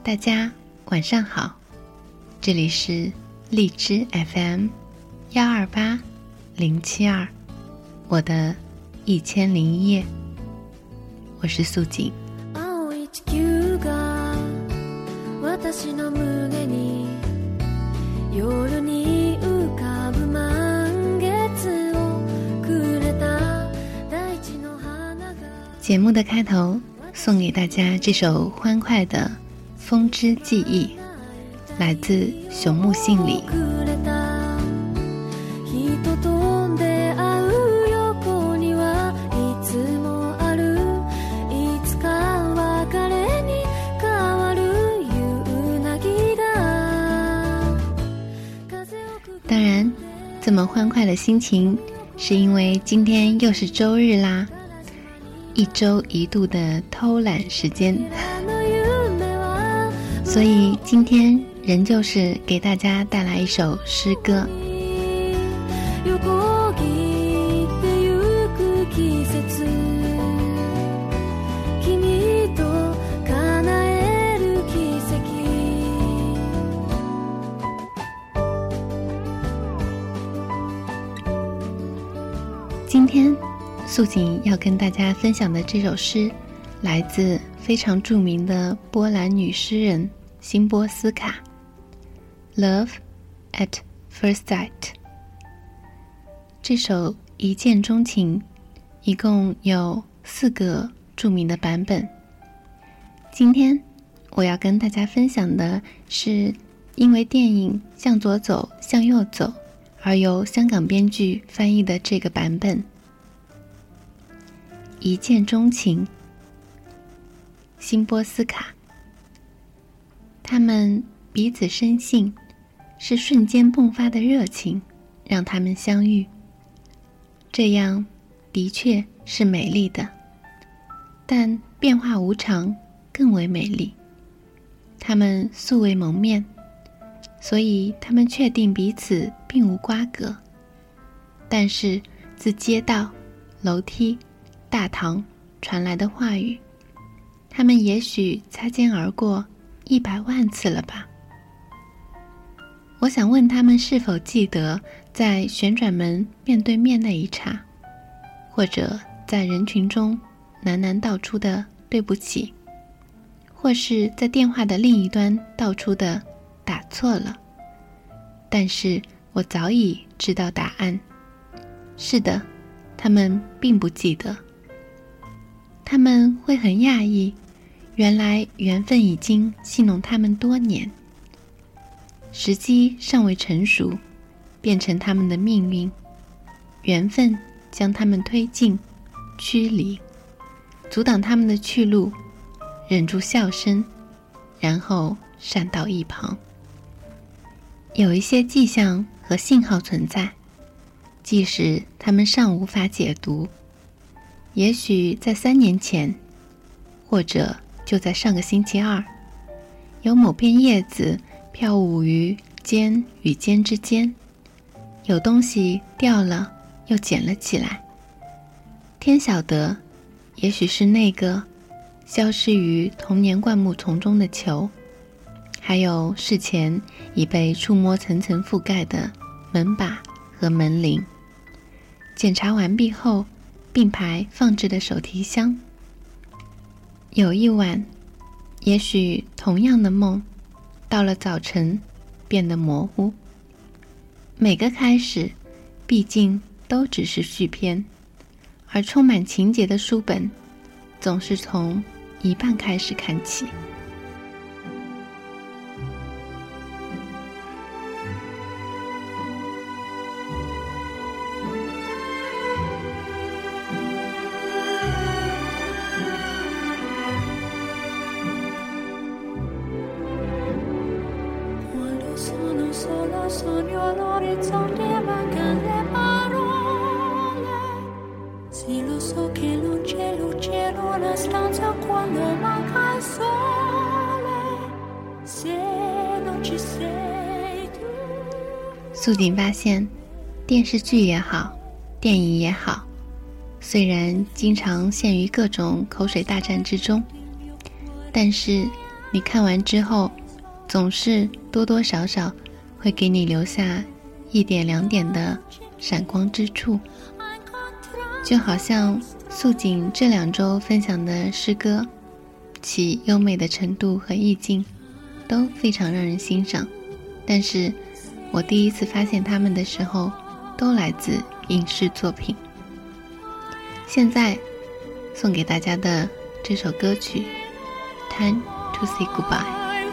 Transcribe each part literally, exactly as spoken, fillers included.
大家晚上好，这里是荔枝 F M 幺二八零七二，我的一千零一夜，我是素锦。节目的开头送给大家这首欢快的《风之记忆》，来自熊木信里。当然，这么欢快的心情是因为今天又是周日啦，一周一度的偷懒时间，所以今天仍旧是给大家带来一首诗歌。今天素锦要跟大家分享的这首诗来自非常著名的波兰女诗人辛波斯卡， Love at First Sight。 这首一见钟情一共有四个著名的版本，今天我要跟大家分享的是因为电影《向左走向右走》而由香港编剧翻译的这个版本。一见钟情，辛波斯卡，他们彼此深信，是瞬间迸发的热情让他们相遇，这样的确是美丽的，但变化无常更为美丽。他们素未谋面，所以他们确定彼此并无瓜葛，但是自街道、楼梯、大堂传来的话语，他们也许擦肩而过一百万次了吧。我想问他们是否记得在旋转门面对面那一刹，或者在人群中喃喃道出的对不起，或是在电话的另一端道出的打错了。但是我早已知道答案，是的，他们并不记得。他们会很讶异，原来缘分已经戏弄他们多年，时机尚未成熟，变成他们的命运，缘分将他们推进、驱离，阻挡他们的去路，忍住笑声，然后闪到一旁。有一些迹象和信号存在，即使他们尚无法解读，也许在三年前，或者就在上个星期二，有某片叶子飘舞于尖与尖之间，有东西掉了又捡了起来。天晓得，也许是那个消失于童年灌木丛中的球，还有事前已被触摸层层覆盖的门把和门铃。检查完毕后并排放置的手提箱。有一晚，也许同样的梦，到了早晨变得模糊。每个开始，毕竟都只是续篇，而充满情节的书本，总是从一半开始看起。 Sogno all'orizzonte mancano le parole. Sì, lo so che non c'è luce in una stanza quando manca il sole. Se non ci sei tu. 素锦发现，电视剧也好，电影也好，虽然经常陷于各种口水大战之中，但是你看完之后总是多多少少会给你留下一点两点的闪光之处，就好像素锦这两周分享的诗歌，其优美的程度和意境都非常让人欣赏，但是我第一次发现它们的时候都来自影视作品。现在送给大家的这首歌曲 Time to say goodbye。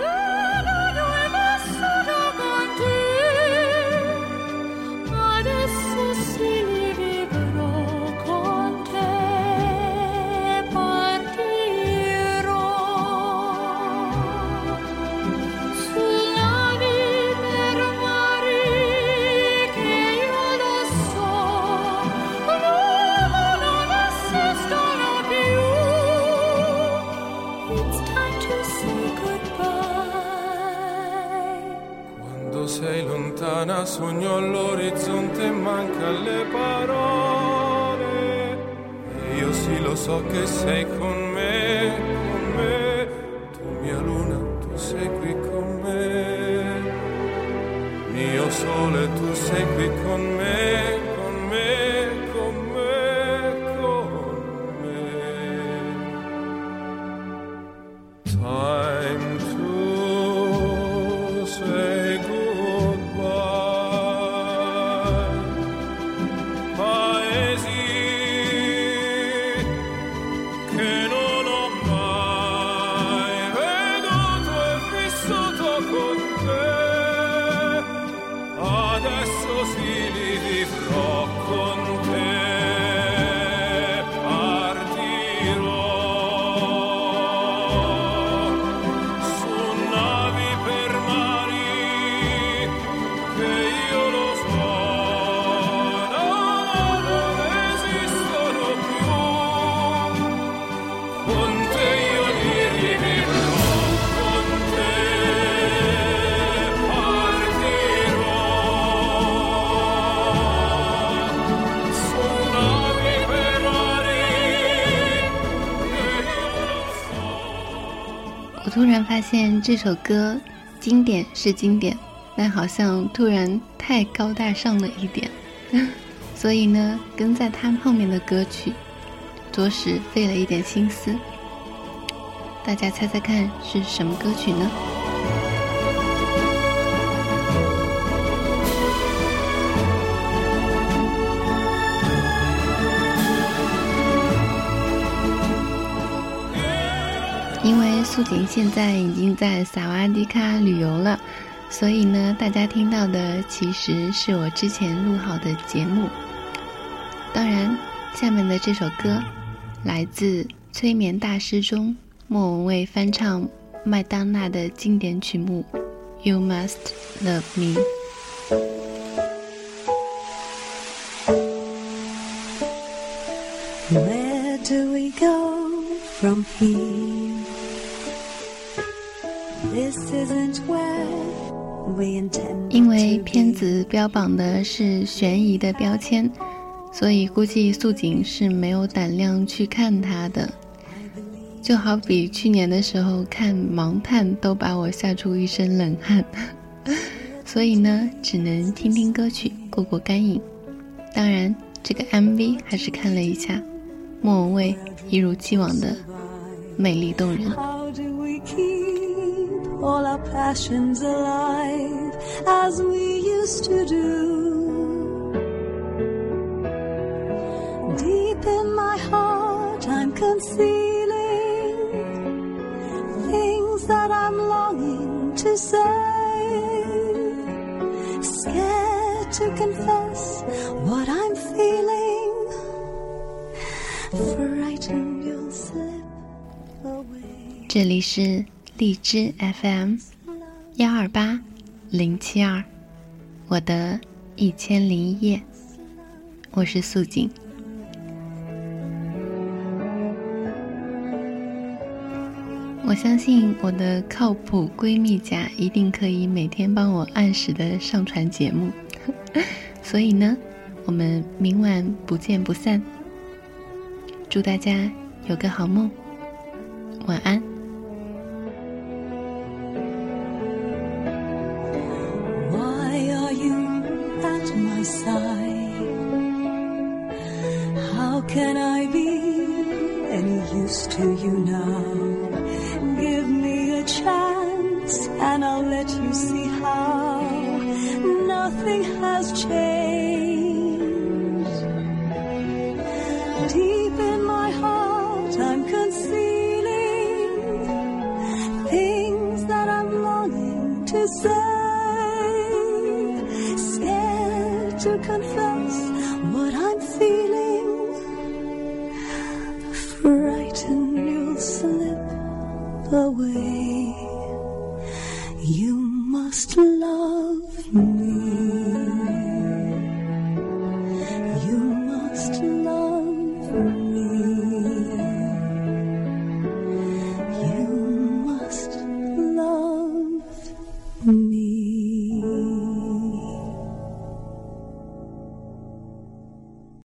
Sei lontana, sogno all'orizzonte e manca le parole. E io sì lo so che sei con me, con me. Tu mia luna, tu sei qui con me. Mio sole, tu sei qui con me, con me, con me, con me. Time to say goodbye. 我突然发现这首歌经典是经典，但好像突然太高大上了一点，所以呢，跟在他后面的歌曲着实费了一点心思。大家猜猜看是什么歌曲呢？因为素锦现在已经在萨瓦迪卡旅游了，所以呢，大家听到的其实是我之前录好的节目。当然，下面的这首歌来自催眠大师中莫文蔚翻唱麦当娜的经典曲目 You Must Love Me。 Where do we go from here? This isn't where we intend. 因为片子标榜的是悬疑的标签，所以估计素锦是没有胆量去看它的。就好比去年的时候看盲探都把我吓出一身冷汗，所以呢，只能听听歌曲过过干瘾。当然，这个 M V 还是看了一下，莫文蔚一如既往的美丽动人。 How do we keep all our passions alive as we used to do? Deep in my heart I'm concealing things that I'm longing to say, scared to confess what I'm feeling, frightened you'll slip away. 这里是荔枝 F M 幺二八零七二，我的一千零一夜，我是素锦。我相信我的靠谱闺蜜甲一定可以每天帮我按时的上传节目，所以呢，我们明晚不见不散。祝大家有个好梦，晚安。 side. How can I be any use to you now? Give me a chance and I'll let you see how nothing has changed. Deep in my heart I'm concealing things that I'm longing to say, scared to confess what I'm feeling, frightened you'll slip away. You must love